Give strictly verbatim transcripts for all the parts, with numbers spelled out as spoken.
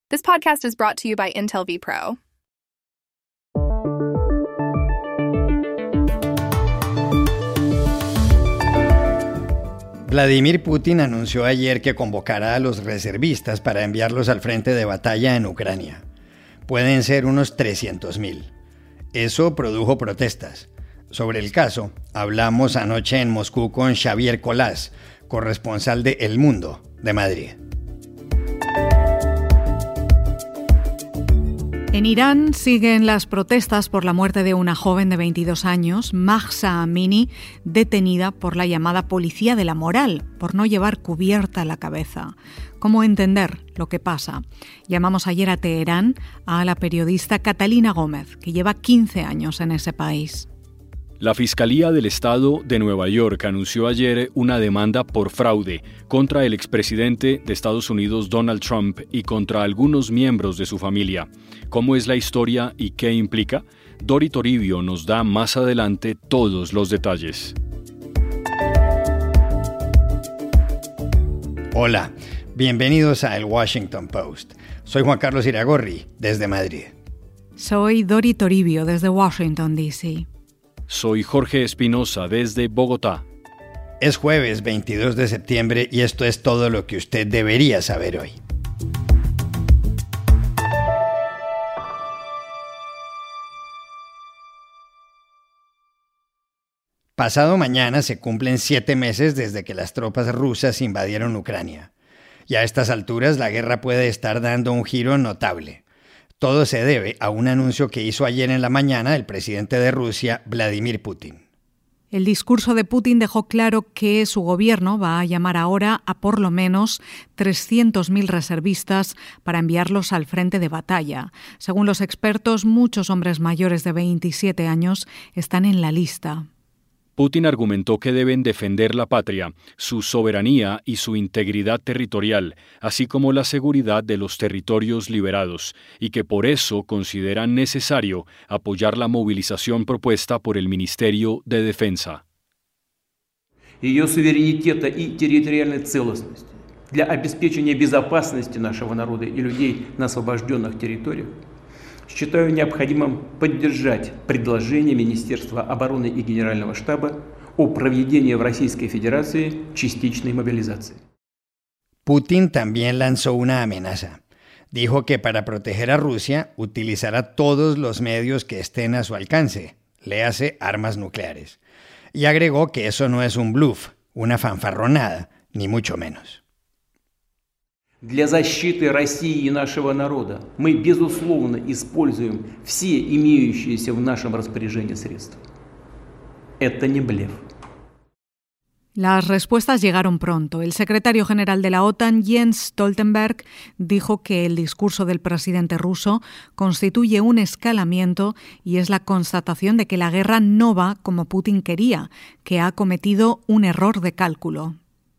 This podcast is brought to you by Intel vPro. Vladimir Putin anunció ayer que convocará a los reservistas para enviarlos al frente de batalla en Ucrania. Pueden ser unos trescientos mil. Eso produjo protestas. Sobre el caso, hablamos anoche en Moscú con Xavier Colás, corresponsal de El Mundo de Madrid. En Irán siguen las protestas por la muerte de una joven de veintidós años, Mahsa Amini, detenida por la llamada policía de la moral, por no llevar cubierta la cabeza. ¿Cómo entender lo que pasa? Llamamos ayer a Teherán a la periodista Catalina Gómez, que lleva quince años en ese país. La Fiscalía del Estado de Nueva York anunció ayer una demanda por fraude contra el expresidente de Estados Unidos Donald Trump y contra algunos miembros de su familia. ¿Cómo es la historia y qué implica? Dori Toribio nos da más adelante todos los detalles. Hola, bienvenidos a El Washington Post. Soy Juan Carlos Iragorri, desde Madrid. Soy Dori Toribio, desde Washington, D C Soy Jorge Espinosa, desde Bogotá. Es jueves veintidós de septiembre y esto es todo lo que usted debería saber hoy. Pasado mañana se cumplen siete meses desde que las tropas rusas invadieron Ucrania. Y a estas alturas la guerra puede estar dando un giro notable. Todo se debe a un anuncio que hizo ayer en la mañana el presidente de Rusia, Vladimir Putin. El discurso de Putin dejó claro que su gobierno va a llamar ahora a por lo menos trescientos mil reservistas para enviarlos al frente de batalla. Según los expertos, muchos hombres mayores de veintisiete años están en la lista. Putin argumentó que deben defender la patria, su soberanía y su integridad territorial, así como la seguridad de los territorios liberados, y que por eso consideran necesario apoyar la movilización propuesta por el Ministerio de Defensa. Ее суверенитета и территориальной целостности для обеспечения безопасности нашего народа и людей на освобожденных территориях. Считаю необходимым поддержать предложение Министерства обороны и Генерального штаба о проведении в Российской Федерации частичной мобилизации. Putin también lanzó una amenaza. Dijo que para proteger a Rusia utilizará todos los medios que estén a su alcance, léase armas nucleares. Y agregó que eso no es un bluff, una fanfarronada, ni mucho menos. Для защиты России и нашего народа мы, безусловно, используем все имеющиеся в нашем распоряжении средства. Это не блеф. Las respuestas llegaron pronto. El secretario general de la OTAN, Jens Stoltenberg, dijo que el discurso del presidente ruso constituye un escalamiento y es la constatación de que la guerra no va como Putin quería, que ha cometido un error de cálculo.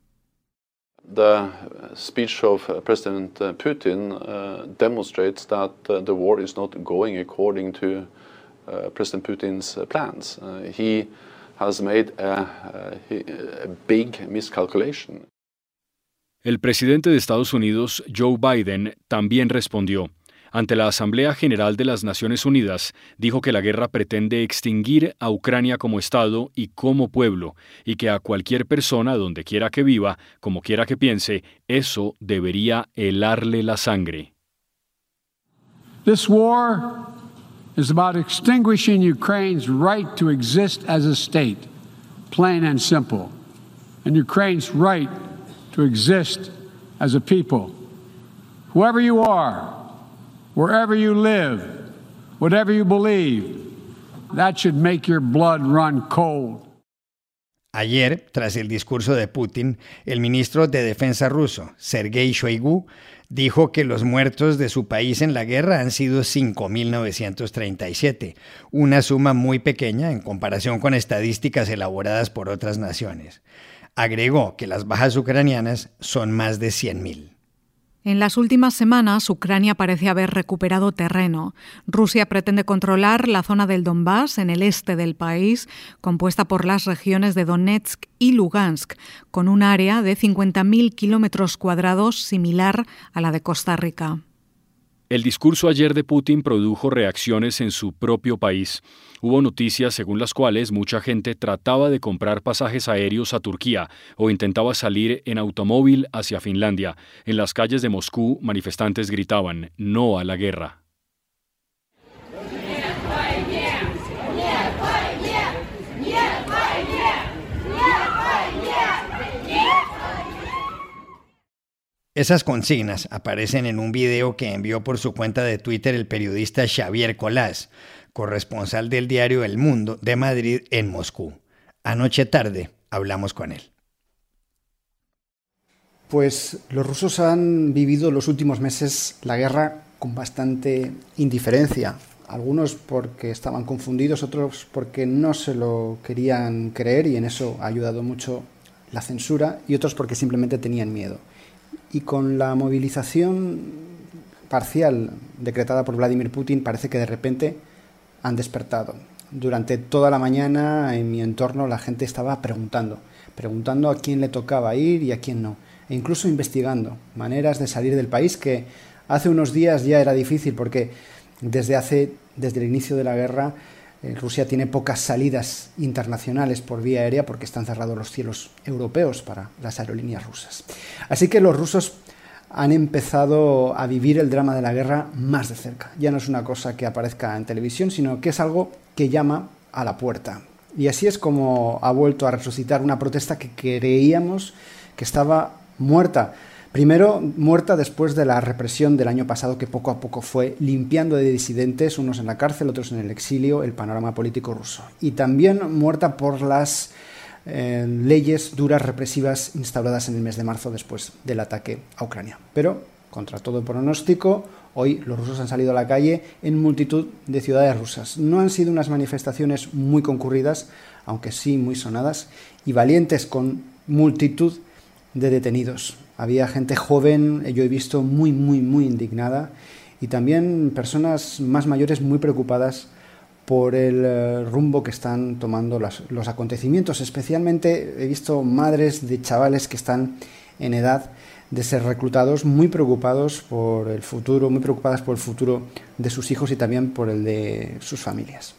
The speech of President Putin uh, demonstrates that uh, the war is not going according to uh, President Putin's plans. Uh, he has made a, a, a big miscalculation. El presidente de Estados Unidos, Joe Biden, también respondió. Ante la Asamblea General de las Naciones Unidas, dijo que la guerra pretende extinguir a Ucrania como Estado y como pueblo, y que a cualquier persona, donde quiera que viva, como quiera que piense, eso debería helarle la sangre. This war is about extinguishing Ukraine's right to exist as a state, plain and simple, and Ukraine's right to exist as a people. Whoever you are, wherever you live, whatever you believe, that should make your blood run cold. Ayer, tras el discurso de Putin, el ministro de Defensa ruso, Sergei Shoigu, dijo que los muertos de su país en la guerra han sido cinco mil novecientos treinta y siete, una suma muy pequeña en comparación con estadísticas elaboradas por otras naciones. Agregó que las bajas ucranianas son más de cien mil. En las últimas semanas, Ucrania parece haber recuperado terreno. Rusia pretende controlar la zona del Donbass, en el este del país, compuesta por las regiones de Donetsk y Lugansk, con un área de cincuenta mil kilómetros cuadrados similar a la de Costa Rica. El discurso ayer de Putin produjo reacciones en su propio país. Hubo noticias según las cuales mucha gente trataba de comprar pasajes aéreos a Turquía o intentaba salir en automóvil hacia Finlandia. En las calles de Moscú, manifestantes gritaban "No a la guerra". Esas consignas aparecen en un video que envió por su cuenta de Twitter el periodista Xavier Colás, corresponsal del diario El Mundo de Madrid en Moscú. Anoche tarde hablamos con él. Pues los rusos han vivido los últimos meses la guerra con bastante indiferencia. Algunos porque estaban confundidos, otros porque no se lo querían creer y en eso ha ayudado mucho la censura, y otros porque simplemente tenían miedo. Y con la movilización parcial decretada por Vladimir Putin parece que de repente han despertado. Durante toda la mañana en mi entorno la gente estaba preguntando, preguntando a quién le tocaba ir y a quién no, e incluso investigando maneras de salir del país, que hace unos días ya era difícil porque desde hace desde el inicio de la guerra eh, Rusia tiene pocas salidas internacionales por vía aérea porque están cerrados los cielos europeos para las aerolíneas rusas. Así que los rusos han empezado a vivir el drama de la guerra más de cerca. Ya no es una cosa que aparezca en televisión, sino que es algo que llama a la puerta. Y así es como ha vuelto a resucitar una protesta que creíamos que estaba muerta. Primero, muerta después de la represión del año pasado, que poco a poco fue limpiando de disidentes, unos en la cárcel, otros en el exilio, el panorama político ruso. Y también muerta por las eh, leyes duras represivas instauradas en el mes de marzo después del ataque a Ucrania. Pero, contra todo pronóstico, hoy los rusos han salido a la calle en multitud de ciudades rusas. No han sido unas manifestaciones muy concurridas, aunque sí muy sonadas, y valientes, con multitud de detenidos. Había gente joven, yo he visto muy, muy, muy indignada, y también personas más mayores muy preocupadas por el uh, rumbo que están tomando las, los acontecimientos. Especialmente he visto madres de chavales que están en edad de ser reclutados, muy preocupados por el futuro, muy preocupadas por el futuro de sus hijos y también por el de sus familias.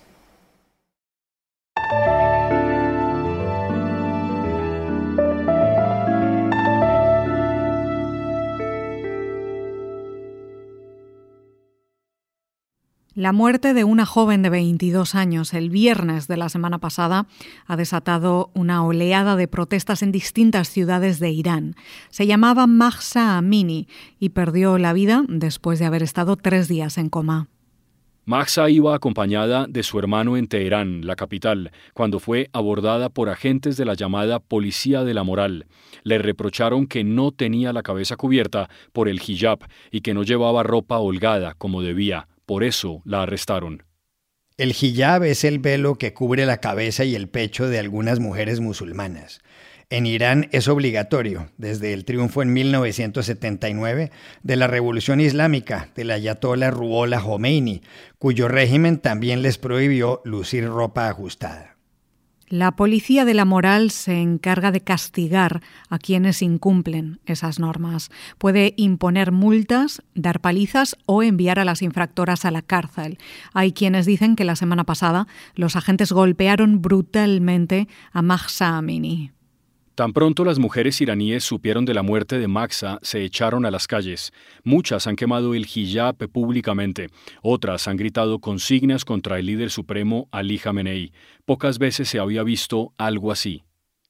La muerte de una joven de veintidós años el viernes de la semana pasada ha desatado una oleada de protestas en distintas ciudades de Irán. Se llamaba Mahsa Amini y perdió la vida después de haber estado tres días en coma. Mahsa iba acompañada de su hermano en Teherán, la capital, cuando fue abordada por agentes de la llamada Policía de la Moral. Le reprocharon que no tenía la cabeza cubierta por el hijab y que no llevaba ropa holgada como debía. Por eso la arrestaron. El hijab es el velo que cubre la cabeza y el pecho de algunas mujeres musulmanas. En Irán es obligatorio desde el triunfo en mil novecientos setenta y nueve de la Revolución Islámica del ayatolá Ruhollah Jomeini, cuyo régimen también les prohibió lucir ropa ajustada. La Policía de la Moral se encarga de castigar a quienes incumplen esas normas. Puede imponer multas, dar palizas o enviar a las infractoras a la cárcel. Hay quienes dicen que la semana pasada los agentes golpearon brutalmente a Mahsa Amini. Tan pronto las mujeres iraníes supieron de la muerte de Mahsa, se echaron a las calles. Muchas han quemado el hijab públicamente. Otras han gritado consignas contra el líder supremo Ali Khamenei. Pocas veces se había visto algo así.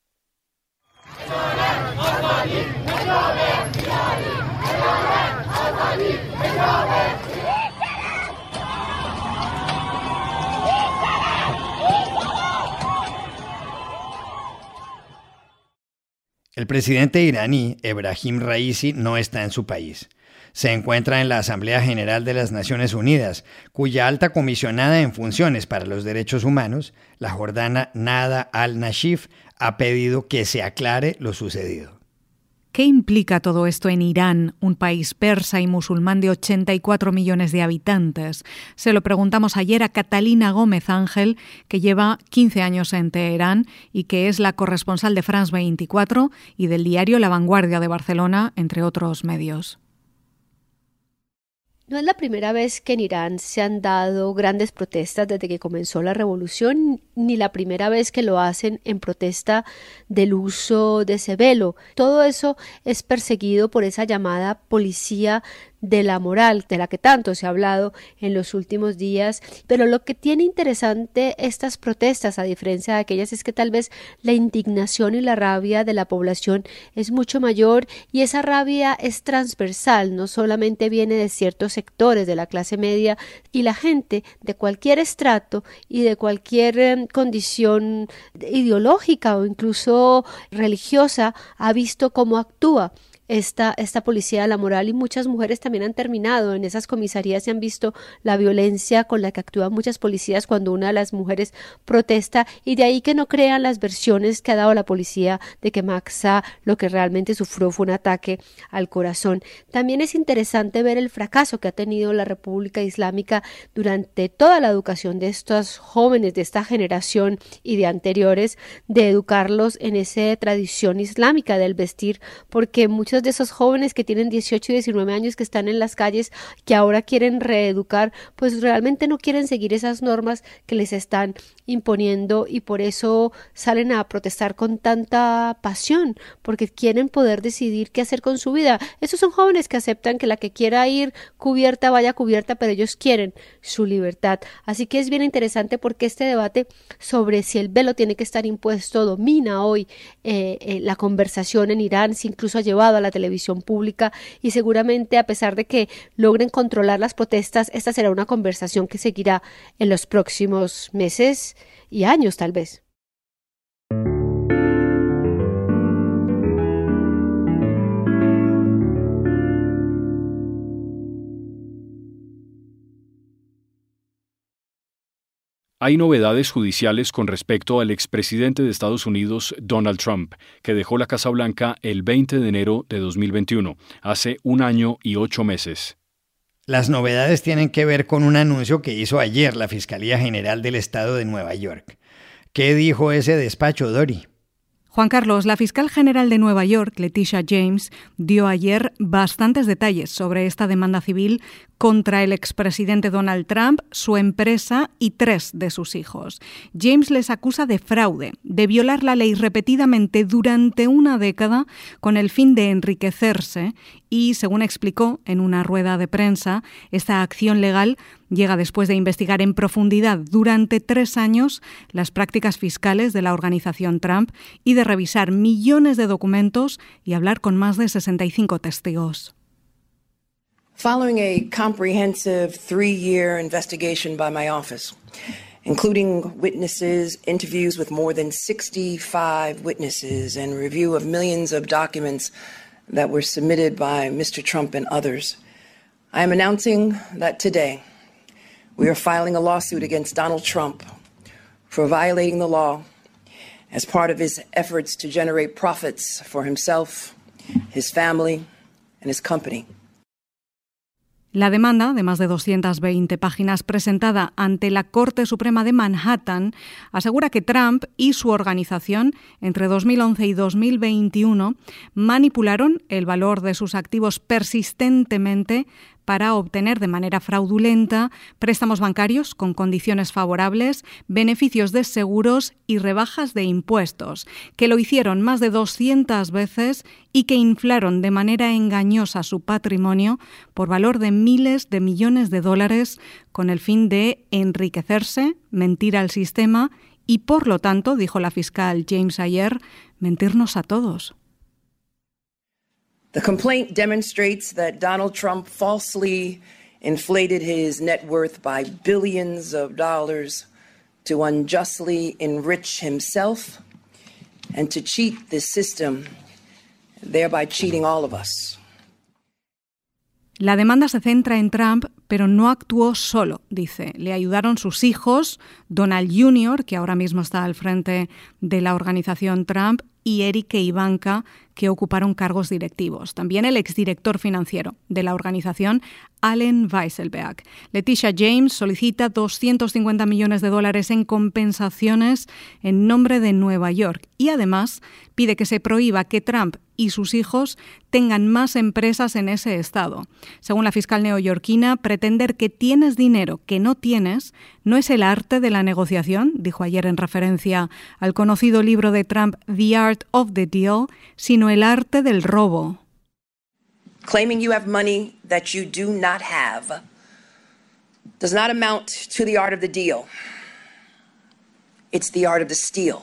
El presidente iraní, Ebrahim Raisi, no está en su país. Se encuentra en la Asamblea General de las Naciones Unidas, cuya alta comisionada en funciones para los derechos humanos, la jordana Nada al-Nashif, ha pedido que se aclare lo sucedido. ¿Qué implica todo esto en Irán, un país persa y musulmán de ochenta y cuatro millones de habitantes? Se lo preguntamos ayer a Catalina Gómez Ángel, que lleva quince años en Teherán y que es la corresponsal de France veinticuatro y del diario La Vanguardia de Barcelona, entre otros medios. No es la primera vez que en Irán se han dado grandes protestas desde que comenzó la revolución, ni la primera vez que lo hacen en protesta del uso de ese velo. Todo eso es perseguido por esa llamada policía de la moral, de la que tanto se ha hablado en los últimos días, pero lo que tiene interesante estas protestas, a diferencia de aquellas, es que tal vez la indignación y la rabia de la población es mucho mayor, y esa rabia es transversal, no solamente viene de ciertos sectores de la clase media, y la gente de cualquier estrato y de cualquier eh, condición ideológica o incluso religiosa ha visto cómo actúa Esta, esta policía de la moral, y muchas mujeres también han terminado en esas comisarías y han visto la violencia con la que actúan muchas policías cuando una de las mujeres protesta, y de ahí que no crean las versiones que ha dado la policía de que Mahsa lo que realmente sufrió fue un ataque al corazón. También es interesante ver el fracaso que ha tenido la República Islámica durante toda la educación de estos jóvenes de esta generación y de anteriores, de educarlos en esa tradición islámica del vestir, porque muchos de esos jóvenes que tienen dieciocho y diecinueve años que están en las calles, que ahora quieren reeducar, pues realmente no quieren seguir esas normas que les están imponiendo, y por eso salen a protestar con tanta pasión, porque quieren poder decidir qué hacer con su vida. Esos son jóvenes que aceptan que la que quiera ir cubierta vaya cubierta, pero ellos quieren su libertad. Así que es bien interesante porque este debate sobre si el velo tiene que estar impuesto domina hoy eh, eh, la conversación en Irán, si incluso ha llevado a la televisión pública, y seguramente a pesar de que logren controlar las protestas, esta será una conversación que seguirá en los próximos meses y años tal vez. Hay novedades judiciales con respecto al expresidente de Estados Unidos, Donald Trump, que dejó la Casa Blanca el veinte de enero de dos mil veintiuno, hace un año y ocho meses. Las novedades tienen que ver con un anuncio que hizo ayer la Fiscalía General del Estado de Nueva York. ¿Qué dijo ese despacho, Dori? Juan Carlos, la fiscal general de Nueva York, Letitia James, dio ayer bastantes detalles sobre esta demanda civil contra el expresidente Donald Trump, su empresa y tres de sus hijos. James les acusa de fraude, de violar la ley repetidamente durante una década con el fin de enriquecerse y, según explicó en una rueda de prensa, esta acción legal llega después de investigar en profundidad durante tres años las prácticas fiscales de la organización Trump y de revisar millones de documentos y hablar con más de sesenta y cinco testigos. Following a comprehensive three-year investigation by my office, including witnesses, interviews with more than sixty-five witnesses, and review of millions of documents that were submitted by Mister Trump and others, I am announcing that today we are filing a lawsuit against Donald Trump for violating the law as part of his efforts to generate profits for himself, his family, and his company. La demanda, de más de doscientas veinte páginas presentada ante la Corte Suprema de Manhattan, asegura que Trump y su organización, entre dos mil once y dos mil veintiuno, manipularon el valor de sus activos persistentemente para obtener de manera fraudulenta préstamos bancarios con condiciones favorables, beneficios de seguros y rebajas de impuestos, que lo hicieron más de doscientas veces y que inflaron de manera engañosa su patrimonio por valor de miles de millones de dólares con el fin de enriquecerse, mentir al sistema y, por lo tanto, dijo la fiscal James ayer, mentirnos a todos. The complaint demonstrates that Donald Trump falsely inflated his net worth by billions of dollars to unjustly enrich himself and to cheat the system, thereby cheating all of us. La demanda se centra en Trump, pero no actuó solo, dice. Le ayudaron sus hijos, Donald junior, que ahora mismo está al frente de la organización Trump, y Eric e Ivanka, que ocuparon cargos directivos. También el exdirector financiero de la organización, Allen Weisselberg. Letitia James solicita doscientos cincuenta millones de dólares en compensaciones en nombre de Nueva York y además pide que se prohíba que Trump y sus hijos tengan más empresas en ese estado. Según la fiscal neoyorquina, pretender que tienes dinero que no tienes no es el arte de la negociación, dijo ayer en referencia al conocido libro de Trump, The Art of the Deal, sino el arte del robo. Claiming you have money that you do not have does not amount to the art of the deal. It's the art of the steal.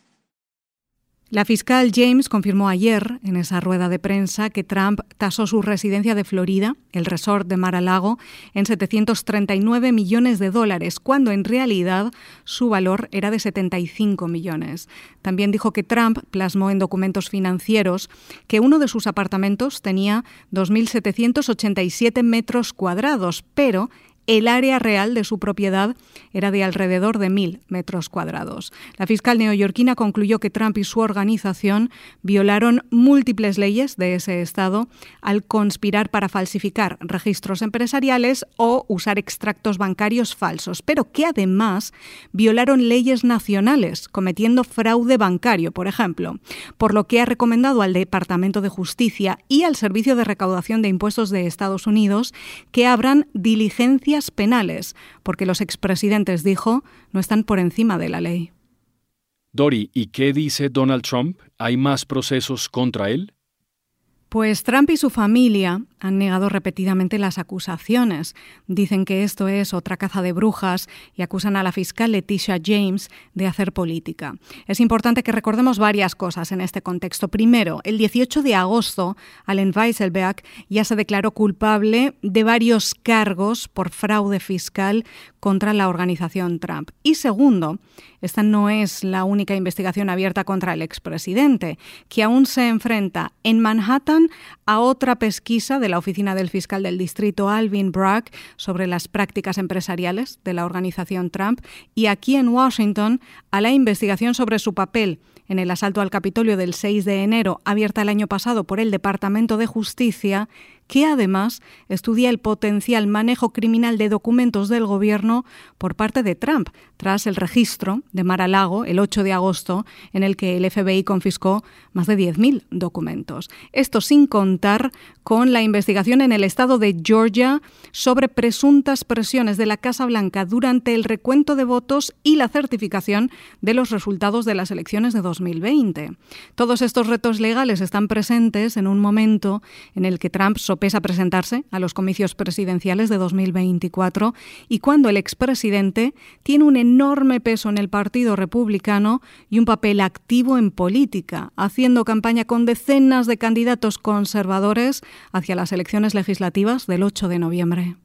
La fiscal James confirmó ayer, en esa rueda de prensa, que Trump tasó su residencia de Florida, el resort de Mar-a-Lago, en setecientos treinta y nueve millones de dólares, cuando en realidad su valor era de setenta y cinco millones. También dijo que Trump plasmó en documentos financieros que uno de sus apartamentos tenía dos mil setecientos ochenta y siete metros cuadrados, pero el área real de su propiedad era de alrededor de mil metros cuadrados. La fiscal neoyorquina concluyó que Trump y su organización violaron múltiples leyes de ese estado al conspirar para falsificar registros empresariales o usar extractos bancarios falsos, pero que además violaron leyes nacionales, cometiendo fraude bancario, por ejemplo, por lo que ha recomendado al Departamento de Justicia y al Servicio de Recaudación de Impuestos de Estados Unidos que abran diligencias penales, porque los expresidentes, dijo, no están por encima de la ley. Dori, ¿y qué dice Donald Trump? ¿Hay más procesos contra él? Pues Trump y su familia han negado repetidamente las acusaciones. Dicen que esto es otra caza de brujas y acusan a la fiscal Letitia James de hacer política. Es importante que recordemos varias cosas en este contexto. Primero, el dieciocho de agosto, Allen Weisselberg ya se declaró culpable de varios cargos por fraude fiscal contra la organización Trump. Y segundo, esta no es la única investigación abierta contra el expresidente, que aún se enfrenta en Manhattan a otra pesquisa de la oficina del fiscal del distrito Alvin Bragg sobre las prácticas empresariales de la organización Trump y aquí en Washington a la investigación sobre su papel en el asalto al Capitolio del seis de enero, abierta el año pasado por el Departamento de Justicia, que además estudia el potencial manejo criminal de documentos del gobierno por parte de Trump, tras el registro de Mar-a-Lago el ocho de agosto, en el que el F B I confiscó más de diez mil documentos. Esto sin contar con la investigación en el estado de Georgia sobre presuntas presiones de la Casa Blanca durante el recuento de votos y la certificación de los resultados de las elecciones de dos mil veinte. Todos estos retos legales están presentes en un momento en el que Trump sopesa presentarse a los comicios presidenciales de dos mil veinticuatro y cuando el expresidente tiene un enorme peso en el Partido Republicano y un papel activo en política, haciendo campaña con decenas de candidatos conservadores hacia las elecciones legislativas del ocho de noviembre.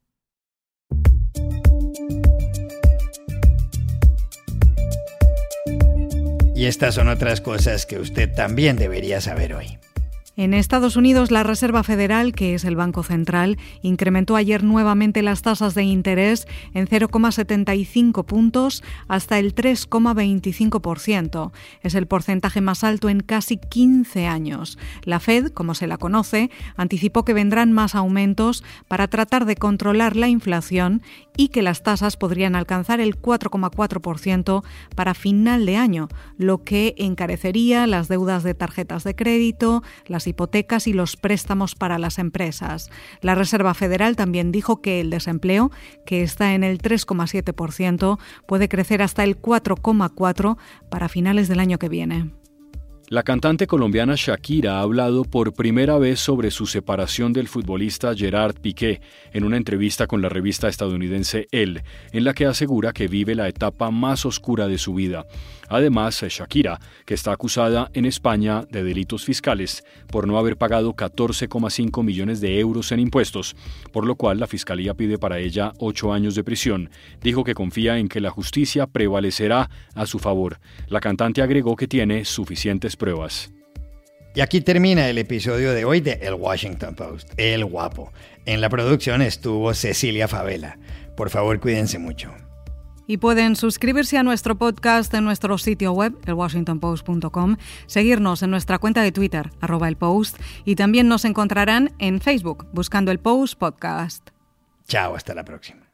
Y estas son otras cosas que usted también debería saber hoy. En Estados Unidos, la Reserva Federal, que es el Banco Central, incrementó ayer nuevamente las tasas de interés en cero coma setenta y cinco puntos hasta el tres coma veinticinco por ciento. Es el porcentaje más alto en casi quince años. La Fed, como se la conoce, anticipó que vendrán más aumentos para tratar de controlar la inflación y que las tasas podrían alcanzar el cuatro coma cuatro por ciento para final de año, lo que encarecería las deudas de tarjetas de crédito, las hipotecas y los préstamos para las empresas. La Reserva Federal también dijo que el desempleo, que está en el tres coma siete por ciento, puede crecer hasta el cuatro coma cuatro por ciento para finales del año que viene. La cantante colombiana Shakira ha hablado por primera vez sobre su separación del futbolista Gerard Piqué en una entrevista con la revista estadounidense Elle, en la que asegura que vive la etapa más oscura de su vida. Además, Shakira, que está acusada en España de delitos fiscales por no haber pagado catorce coma cinco millones de euros en impuestos, por lo cual la Fiscalía pide para ella ocho años de prisión, dijo que confía en que la justicia prevalecerá a su favor. La cantante agregó que tiene suficientes pruebas. Y aquí termina el episodio de hoy de El Washington Post, El Guapo. En la producción estuvo Cecilia Favela. Por favor, cuídense mucho. Y pueden suscribirse a nuestro podcast en nuestro sitio web, el washington post punto com, seguirnos en nuestra cuenta de Twitter, arroba el Post, y también nos encontrarán en Facebook, buscando el Post Podcast. Chao, hasta la próxima.